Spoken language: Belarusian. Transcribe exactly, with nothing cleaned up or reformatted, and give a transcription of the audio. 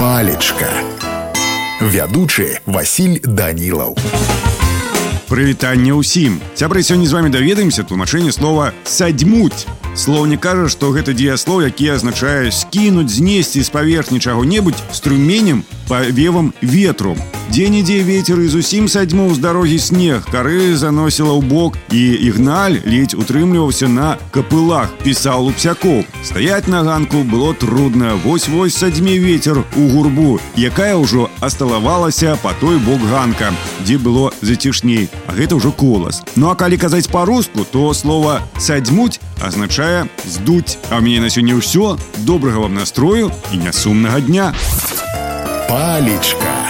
Палечка. Вядучы Васіль Данілаў. Прывітанне ўсім. Сябры, сёння з вами даведаемся тлумачэнне слова «садьмуць». Слоўнік кажа, што гэта дзеяслоў, які азначае скінуць, знесці з паверхні чаго-небудзь струменем, павевам ветру. Дзе-нідзе вецер і зусім садьмуў з дарогі снег, кары заносіла ў бок, і Ігналь ледзь утрымліваўся на капылах, пісаў Лупсякоў. Стаяць на ганку было трудна, вось-вось садьме вецер у гурбу, якая ўжо асталавалася па той бок ганка, дзе было зацішней, а гэта ўжо колас. Ну а калі казаць па-руску, то слова «садьмуць» азначае «здуць». А ў мяне на сёння ўсё. Добрага вам настрою і нясумнага дня. Палечка.